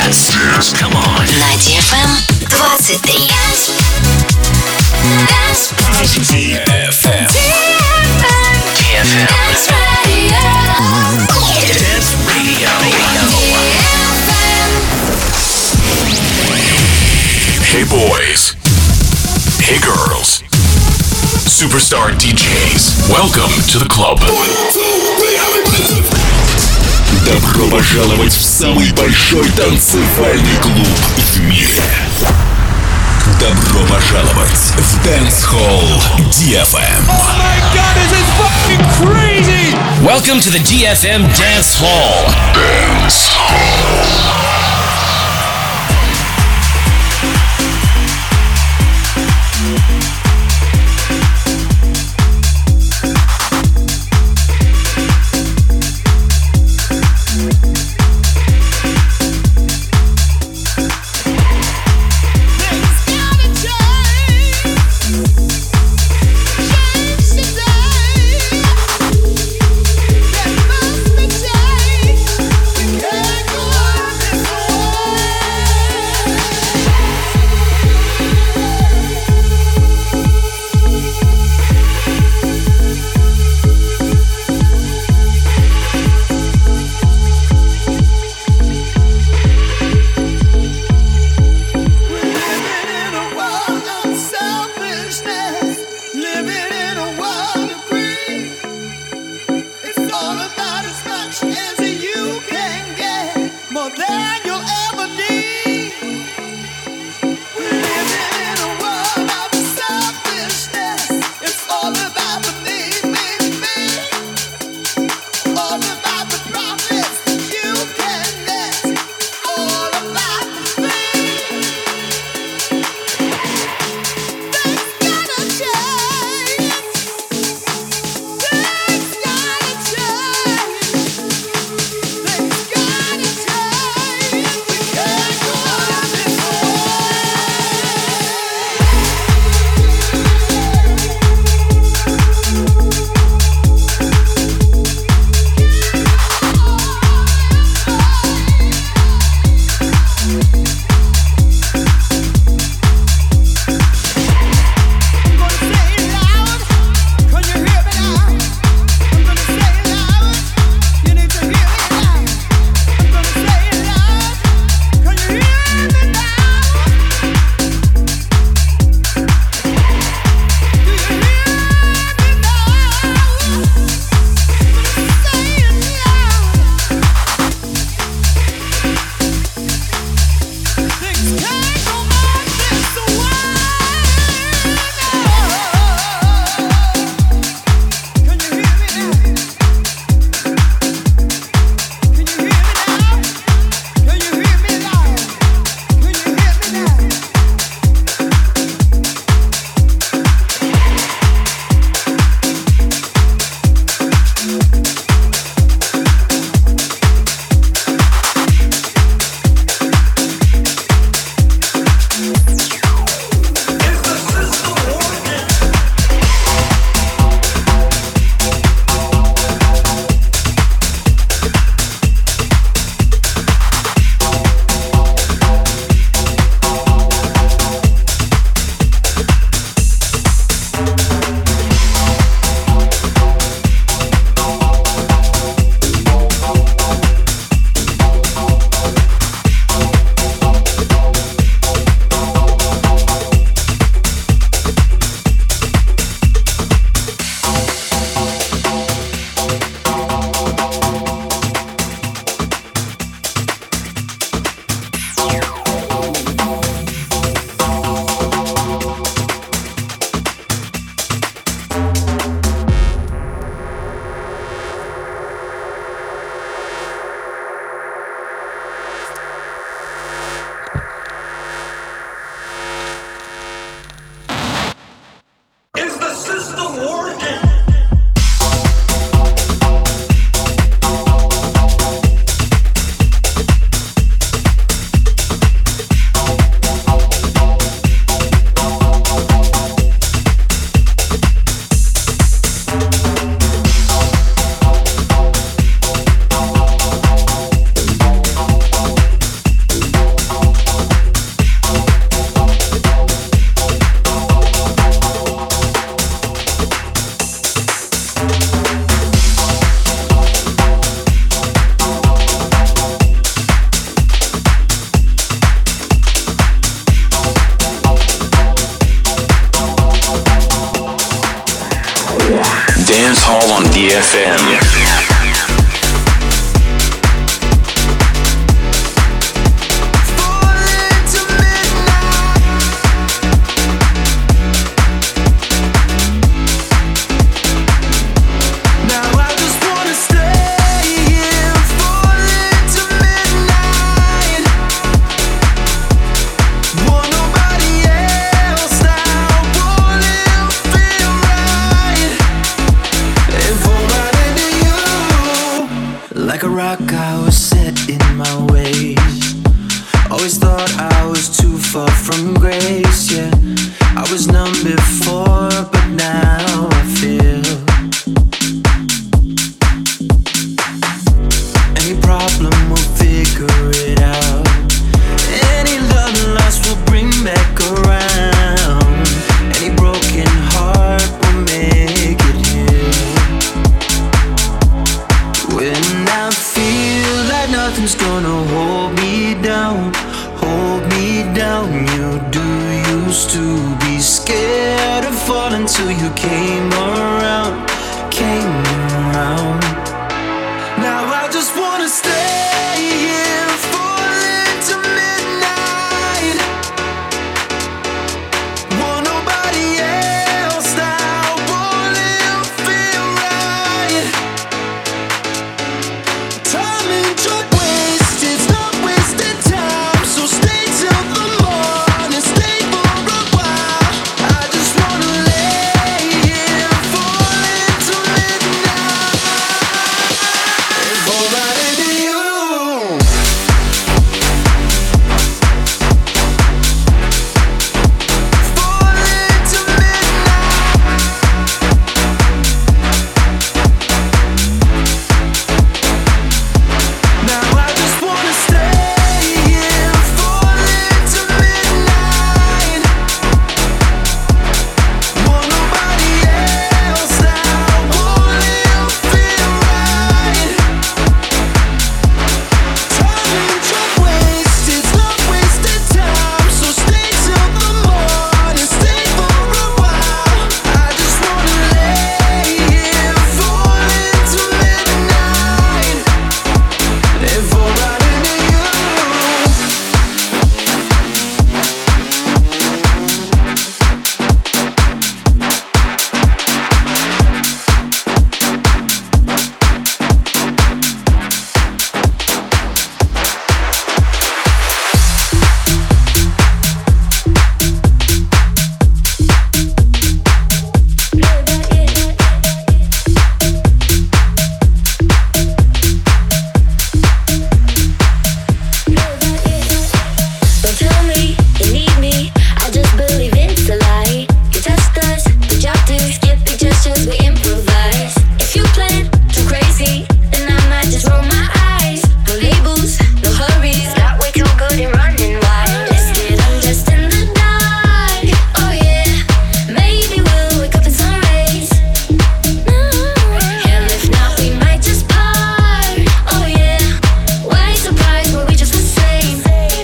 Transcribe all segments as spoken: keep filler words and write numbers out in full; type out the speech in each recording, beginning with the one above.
Dance. Come on. На ди эф эм двадцать три. ди эф эм. ди эф эм. Dance Radio. Dance Radio. Hey boys. Hey girls. Superstar ди джейс. Welcome to the club. Добро пожаловать в самый большой танцевальный клуб в мире. Добро пожаловать в Dance Hall ди эф эм. Oh my god, this is fucking crazy! Welcome to the ди эф эм Dance Hall. Dance Hall. ди эф эм. Like a rock, I was set in my ways. Always thought I was too far from grace, yeah. I was numb before, but now I feel. Any problem, we'll figure it out. Any love lost, we'll bring back around. Any broken heart, we'll make it heal. When I feel like nothing's gonna hold me down, hold me down. You do used to be scared of falling till you came around, came around. Now I just wanna stay here, falling to midnight. Want nobody else now, won't it feel right? Time and drug waste, it's not wasted time. So stay till the morning, stay for a while. I just wanna lay here, falling to midnight. If all that into you. Falling to midnight. Now I just wanna stay here, falling to midnight. Want nobody else now, won't it feel right? Time and drug waste, it's not wasted time. So stay till the morning, stay for a while. I just wanna lay here, falling to midnight. If all right into you. Don't tell me you need me, I just believe it's a lie. You test us, the job to skip the gestures, we improvise. If you plan too crazy, then I might just roll my eyes. No labels, no hurries, got way too good and running wild. Listed, I'm just in the dark. Oh yeah, maybe we'll wake up in sun rays. No, hell if not, we might just part. Oh yeah, why surprised? Were we just the same?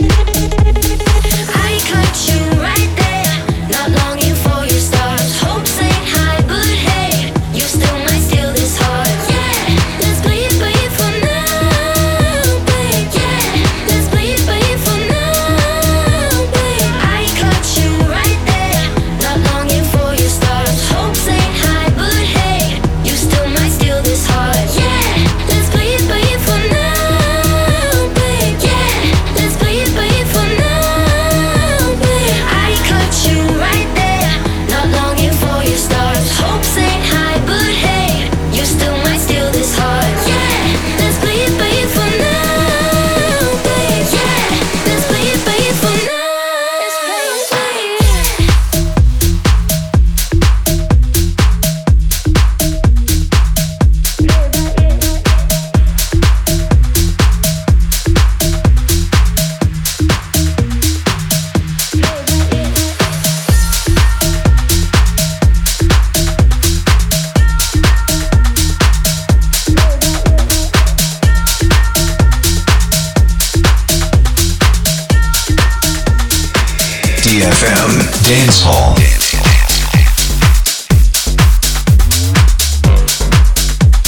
I caught you right there, not longing for your stars. Hopes ain't high, but hey, you still might steal this heart. Yeah, let's play it, play it for now, babe. Yeah, let's play it, play it for now, babe. I caught you right there, not longing for your stars. Hopes ain't high, but hey, you still might steal this heart. Yeah, let's play it, play it for now, babe. Yeah, let's play it, play it for now, babe. I caught you right there, not longing for your stars. Hopes ain't high, but hey, you still might steal this heart. Yeah, let's play it, play it for now, babe. Yeah, let's play it, play it for now. Let's play it, play it. ди эф эм Dance Hall.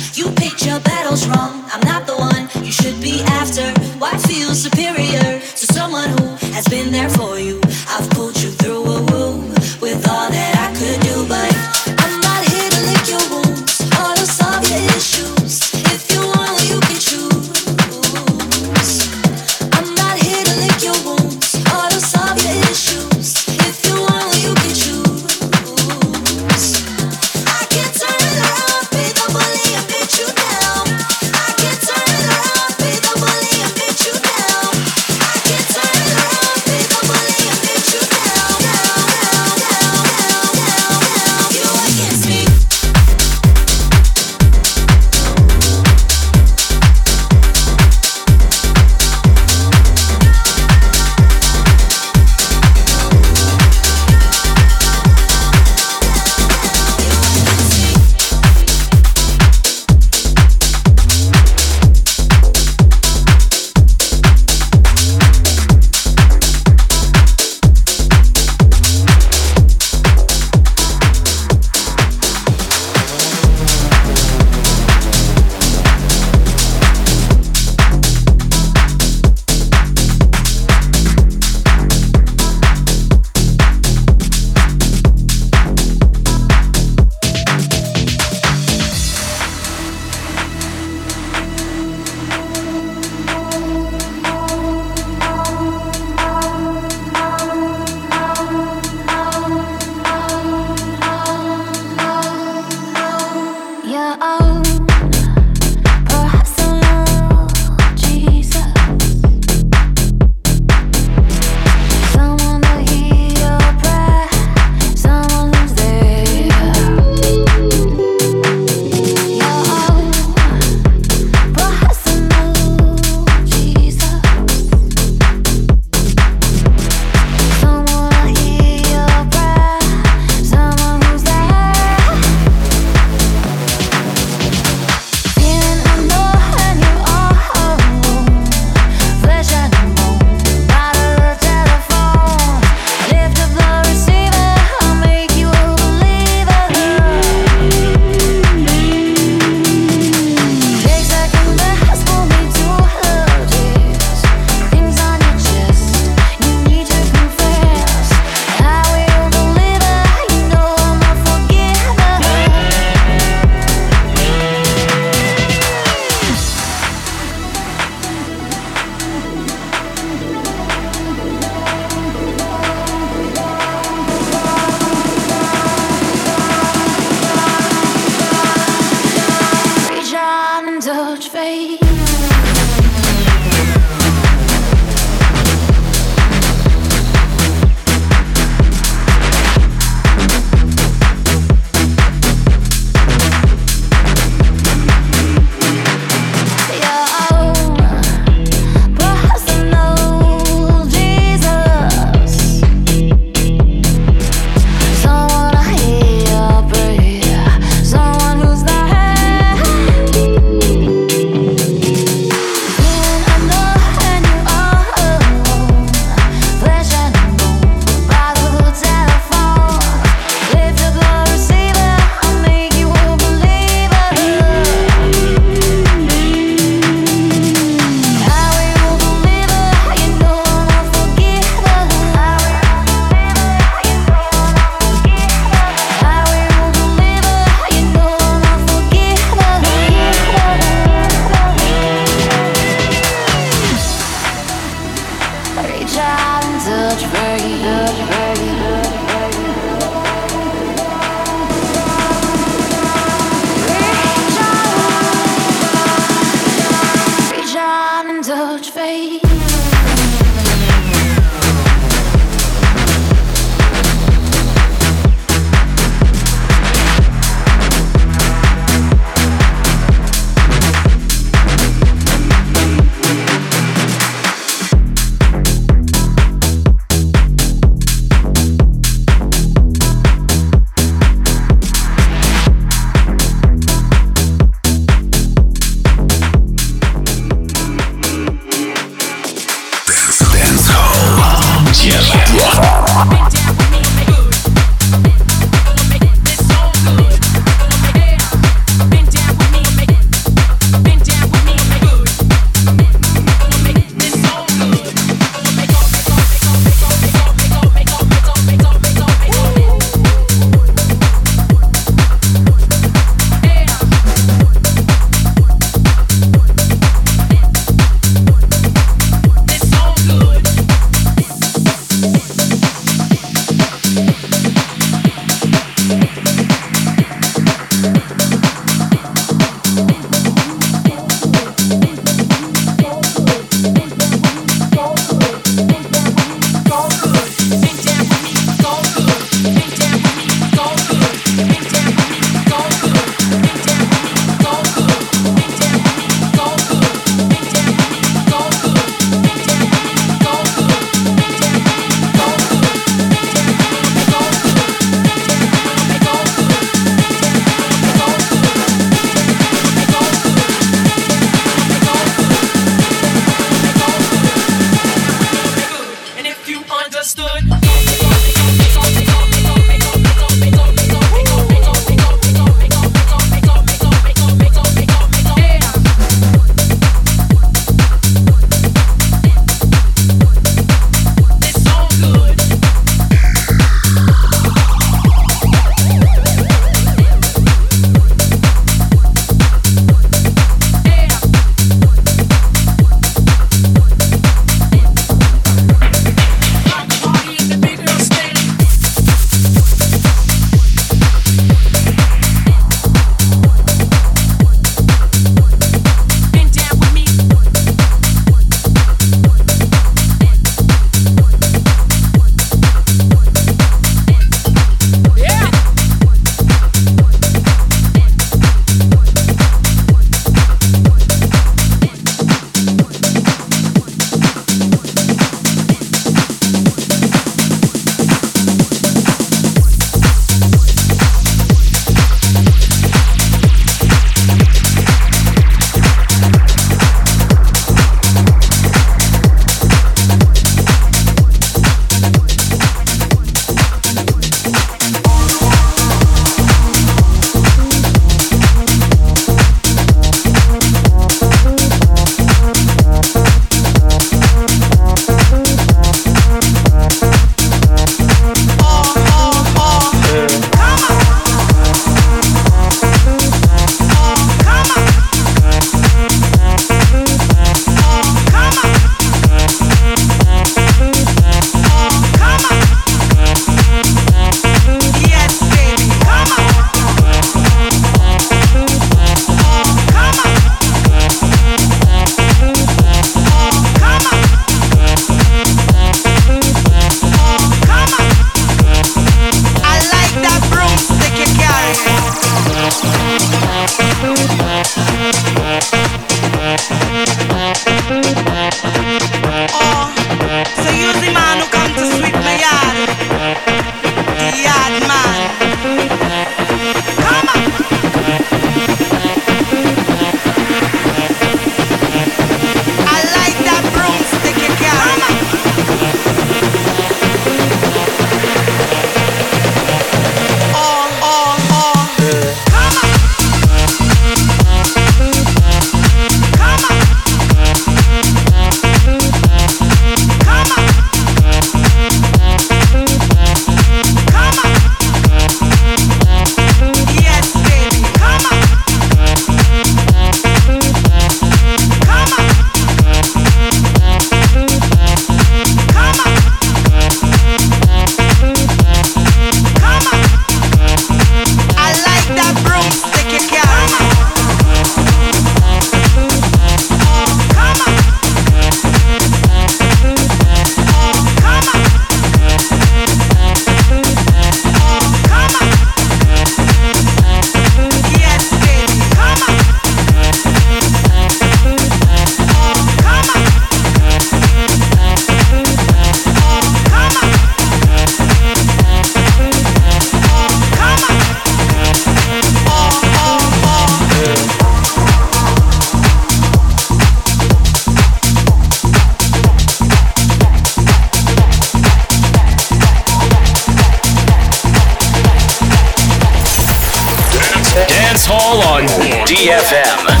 Dance Hall on D F M.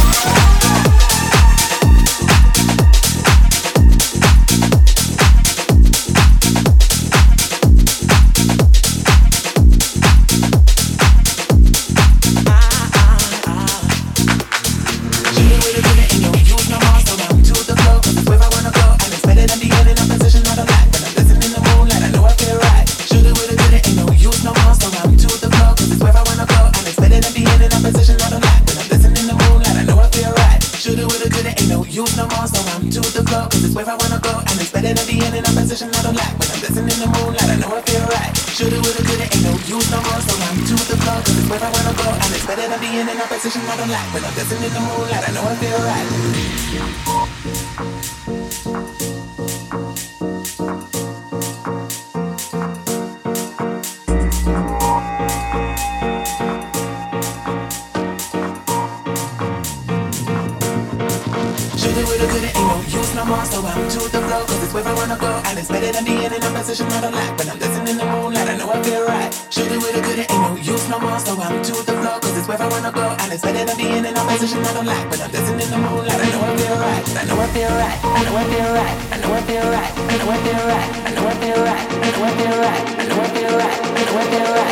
When I'm dancing in the moonlight, I know I feel right. Shoot it with a good, it ain't no use no more. So I'm to the flow, cause it's where I wanna go. And it's better than being in a position I don't like. When I'm dancing in the moonlight, I know I feel right. Shoot it with a good, it ain't no use no more. So I'm to the flow, cause it's where I wanna go. And it's better than being in a position I don't like. When I'm dancing in the moonlight, I know I feel right. I know I feel right. I know I feel right. I know I feel right. I know I feel right. I know I feel right. I know I feel right. I know I feel right. I know I feel right.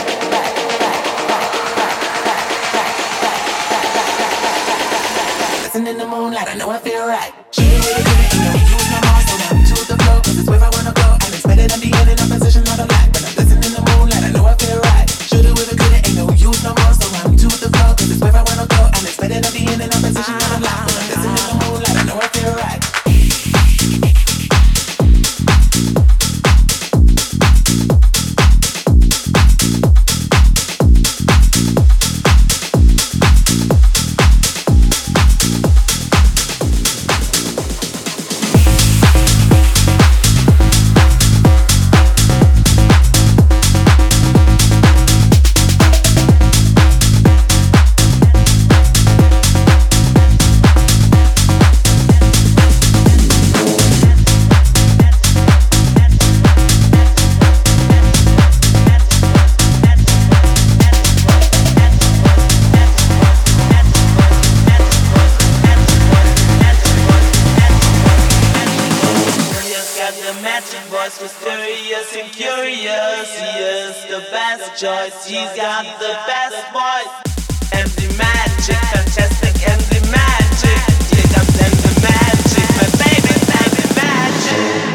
Dancing in the moonlight, I know I feel right. Shoot it with a good, ain't no use no more. So I'm to the flow, cause it's where I wanna go. And it's better than being in a position I don't like. When I'm dancing in the moonlight, I know I feel right. Shoot it with a good, ain't no use no more. So I'm to the flow, cause it's where I wanna go. And it's better than being in a position I don't like. When I'm dancing in the moonlight, I know I feel right. Choice, he's got the best voice. M D Magic, fantastic M D Magic. Here comes M D Magic, my baby, baby Magic.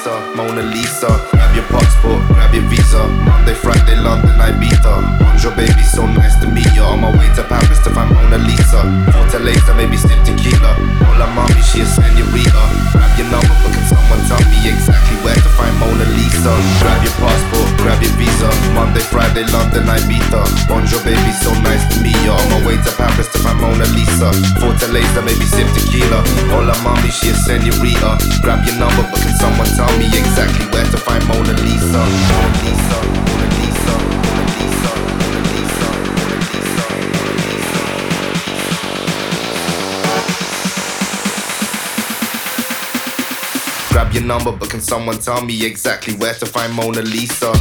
Lisa, Mona Lisa. Grab your passport, grab your visa. Monday, Friday, London, Ibiza. Bonjour, baby, so nice to meet you. On my way to Paris to find Mona Lisa. Fortaleza, maybe sip tequila. Hola, mommy, she a senorita. Grab your number, but can someone tell me exactly where to find Mona Lisa? Grab your passport, grab your visa. Monday, Friday, London, Ibiza. Bonjour, baby, so nice to meet you. On my way to Paris to find Mona Lisa. Fortaleza, maybe sip tequila. Hola, mommy, she a senorita. Grab your number, but can someone tell me exactly where to find Mona Lisa? Mona Lisa, Mona Lisa, Mona Lisa, Mona Lisa, Mona Lisa, Mona Lisa. Grab your number, but can someone tell me exactly where to find Mona Lisa?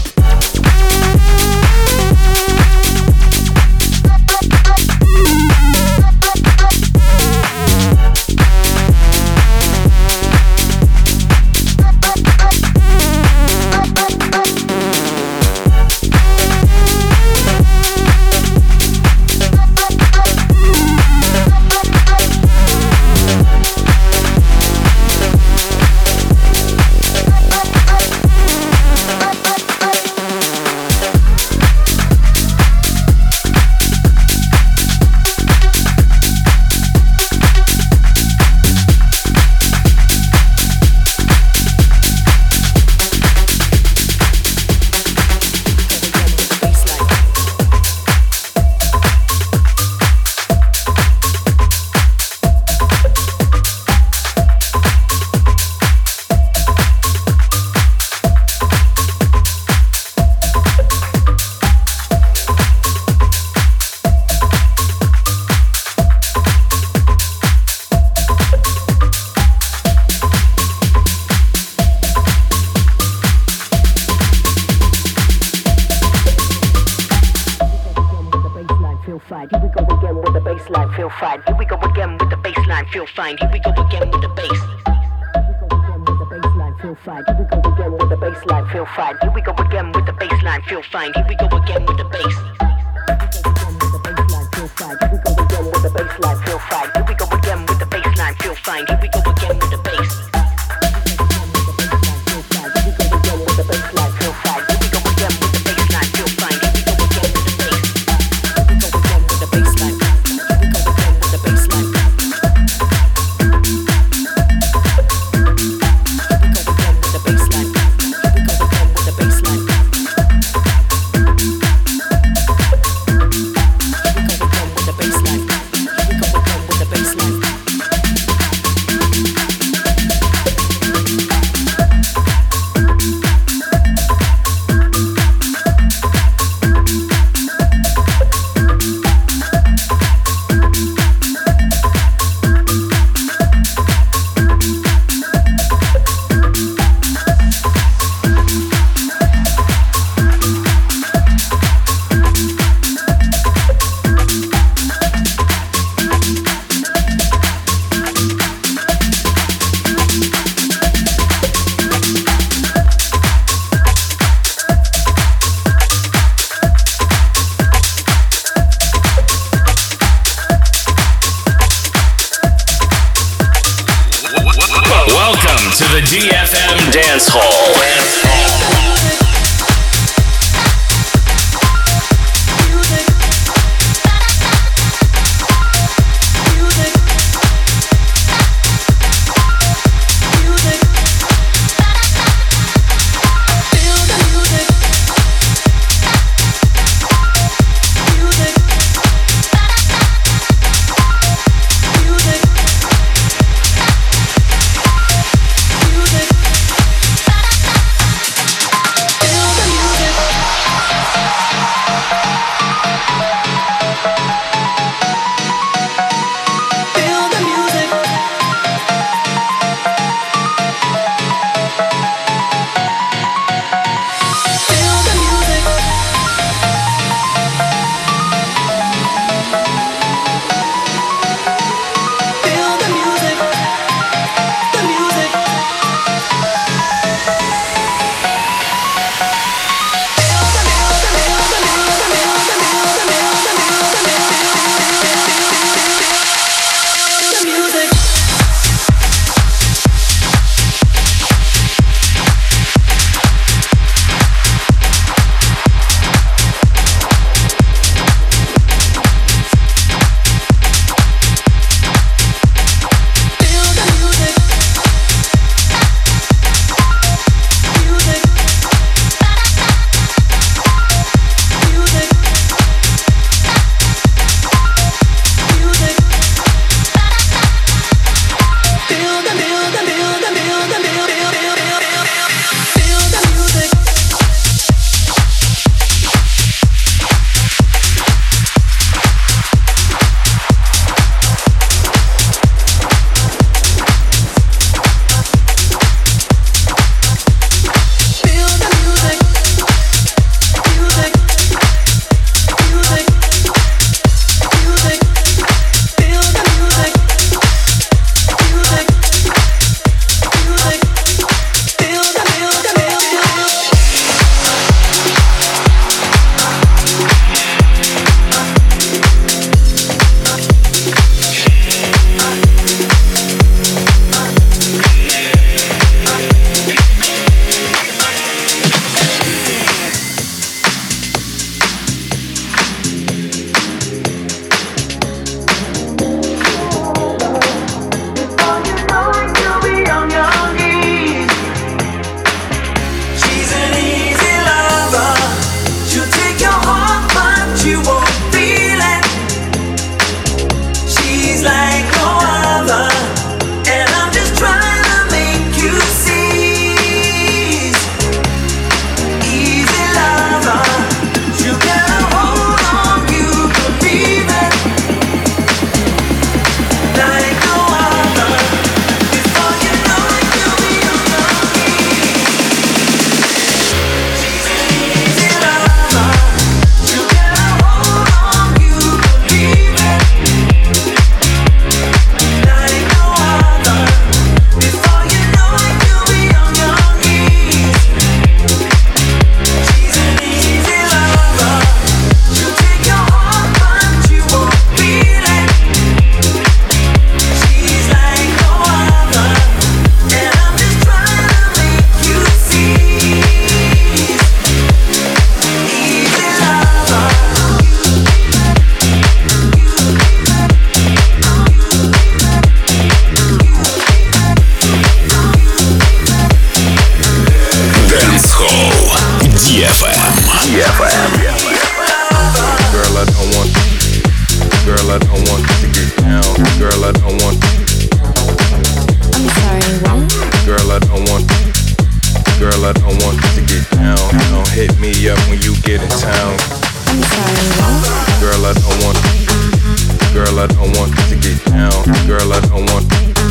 эф эм. ди эф эм. Girl, I don't want. Girl, I don't want to get down. Girl, I don't want. I'm sorry, what? Girl, I don't want. Girl, I don't want to get down. Don't hit me up when you get in town. I'm sorry, what? Girl, I don't want. Girl, I don't want to get down. Girl, I don't want.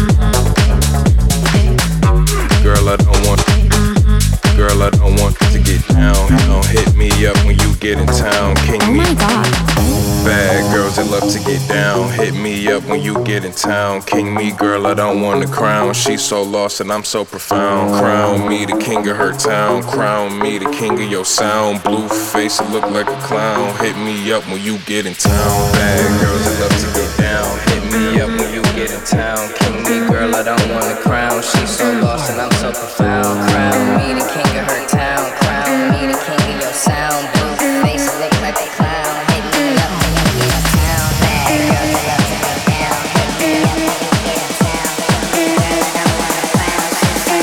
Girl, I don't want. Girl, I don't want to get down. Don't hit me up when you get in town. King Oh me. my god. Bad girls that love to get down. Hit me up when you get in town. King me, girl, I don't want a crown. She's so lost and I'm so profound. Crown me the king of her town. Crown me the king of your sound. Blue face, it look like a clown. Hit me up when you get in town. Bad girls that love to get down. Hit me up when you get in town. King me, girl, I don't want a crown. She's so lost and I'm so profound. Crown me the king of her town. Crown me the king of your sound. Blue face, it look like a clown. Hit me up when you get in town. Bad girls that love to get down. Hit me up when you get in town. Girl, I don't want a crown. She's so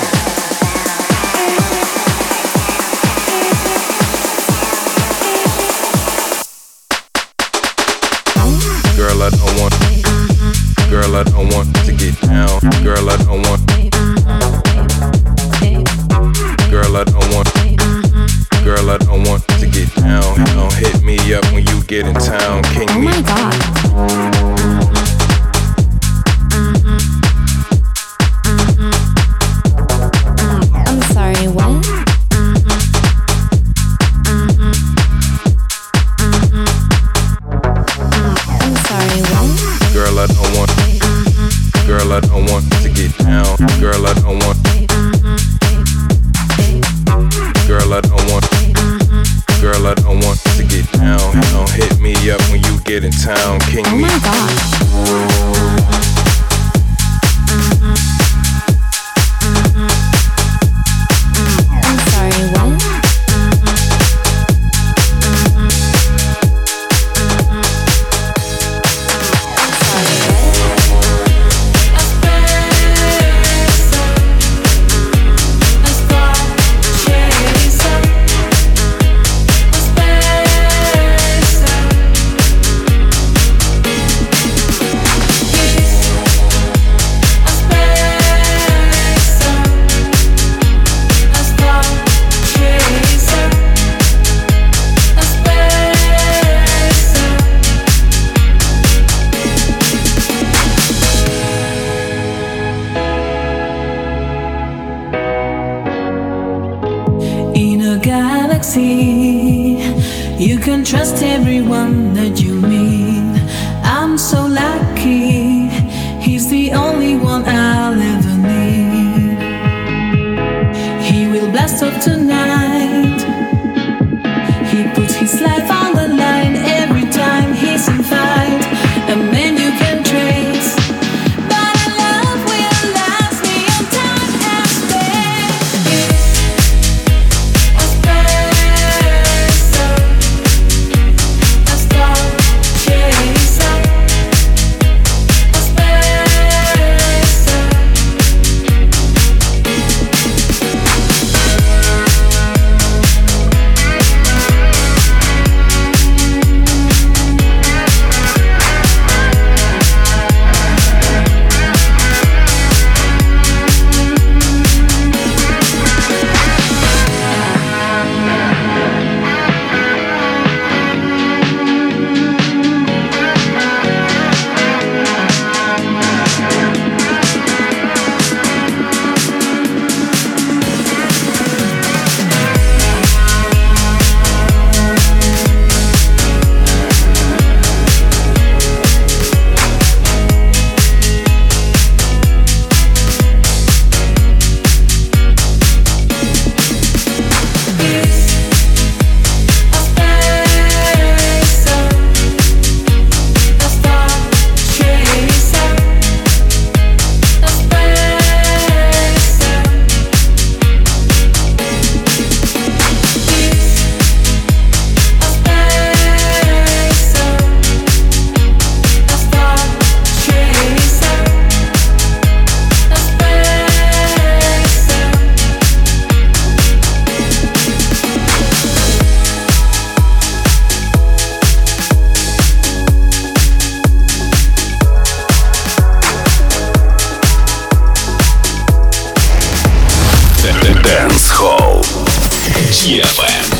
lost. Girl, I don't want. Girl, I don't want to get down. Girl, I don't want. Girl, I don't want. Girl, I don't want to get down. Don't hit me up when you get in town. King Oh me. my god. I'm sorry, what? I'm sorry, what? Girl, I don't want. Girl, I don't want to get down. Girl, I don't want. Girl, I don't want. Girl, I don't want to get down. Don't hit me up when you get in town. King Oh me. my god. I'm sorry, what? In a galaxy, you can trust everyone that you meet. I'm so lucky, he's the only one I'll ever need. He will blast off tonight. He puts his life on the line every time he's in fight. A man you can trace, but a love will last beyond time and space. A spacer, a star chaser. A spacer. Dance Hall ди эф эм.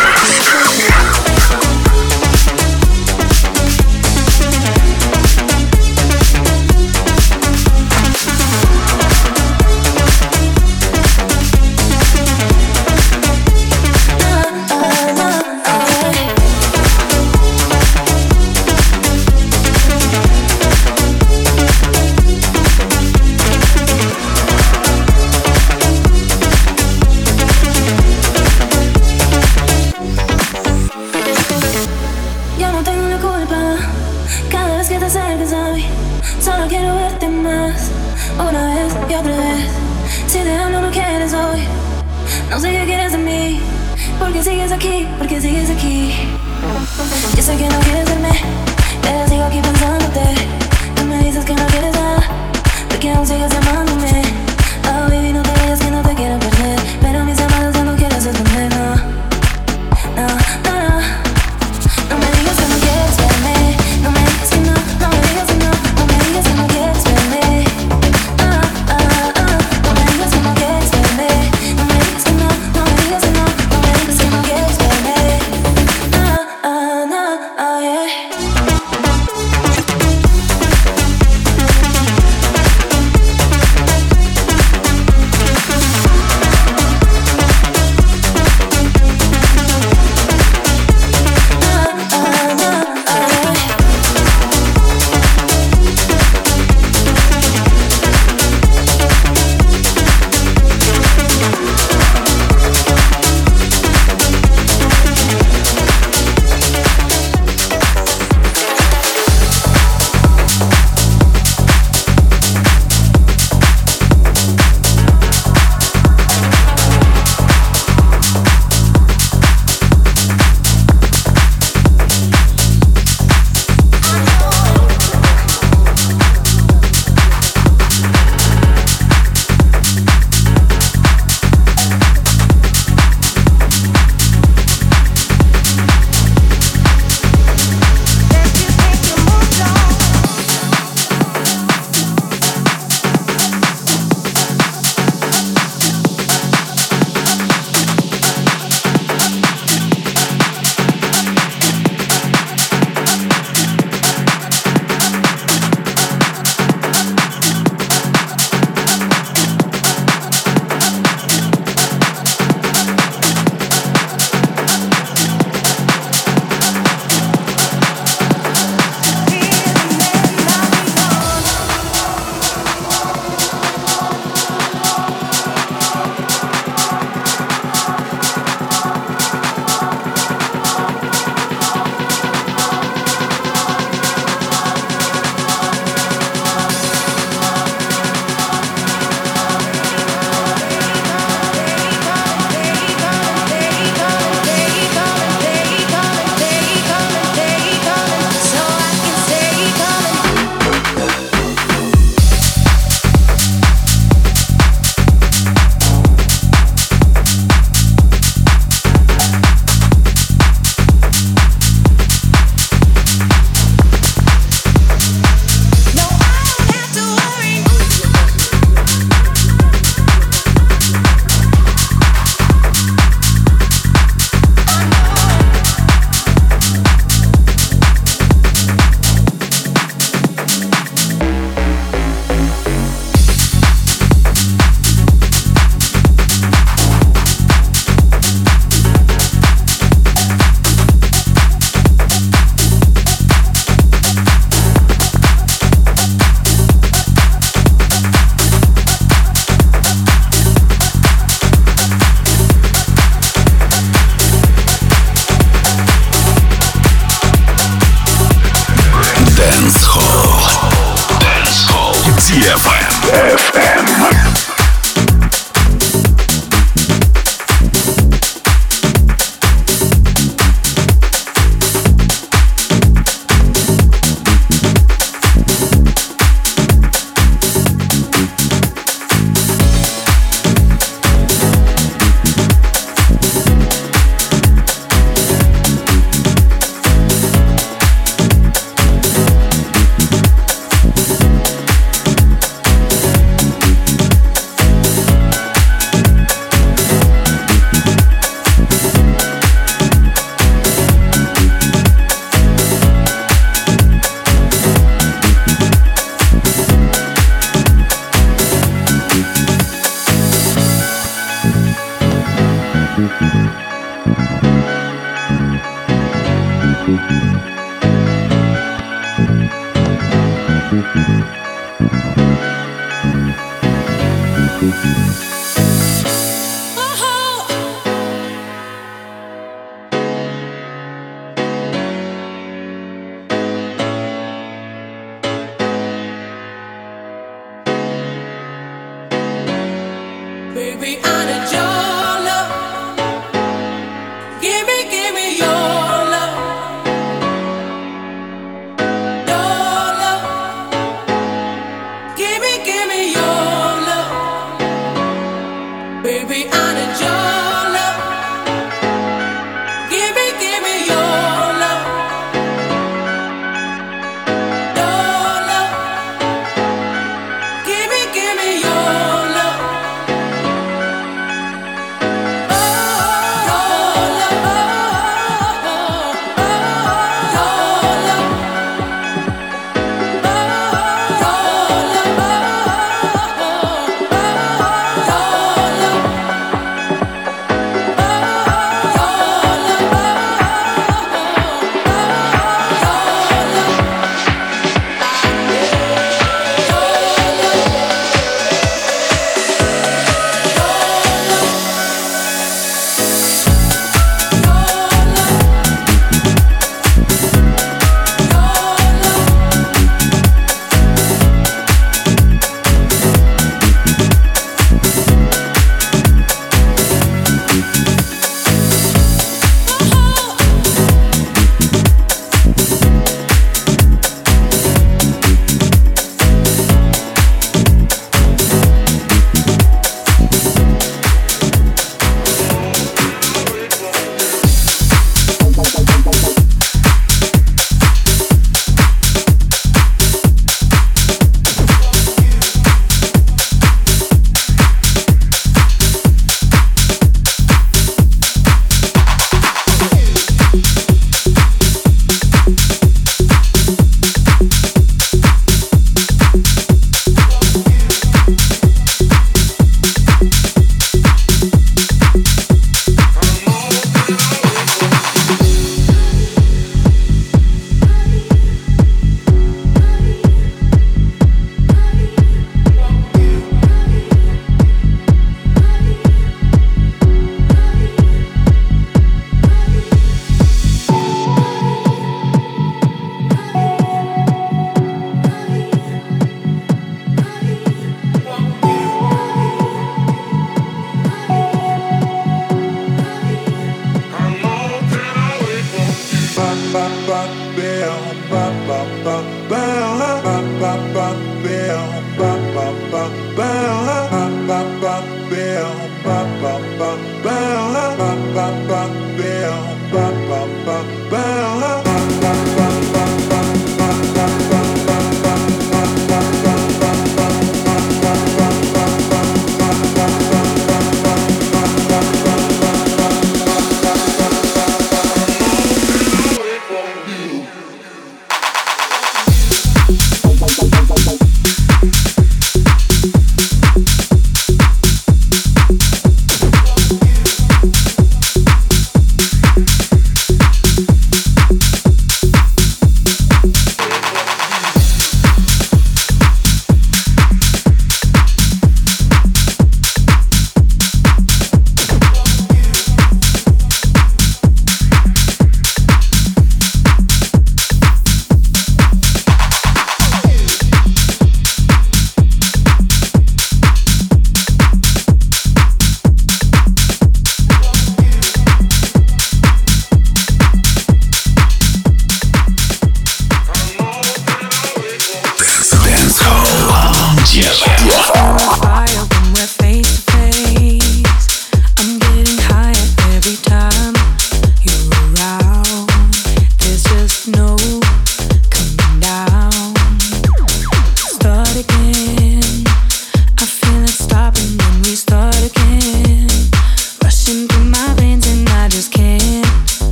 No sé qué quieres de mí, porque sigues aquí, porque sigues aquí. Yo sé que no quieres verme, pero sigo aquí pensándote. Tú me dices que no quieres nada, porque aún sigues llamándome. Oh baby, no te vayas que no te quiero perder, pero mis llamadas ya no quiero responder, no. No, no, no. No me digas que no quieres verme, no me digas que no, no me digas que no, no me digas que no quieres verme. Ah, ah, ah, no me digas que no quieres verme, no me digas que no, no me digas que no, no me digas que no quieres verme. Ah, ah, no, ah, yeah.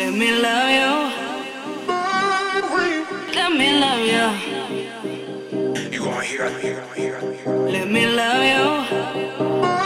Let me love you. Let me love you. You gon' hear, hear, hear, hear. Let me love you.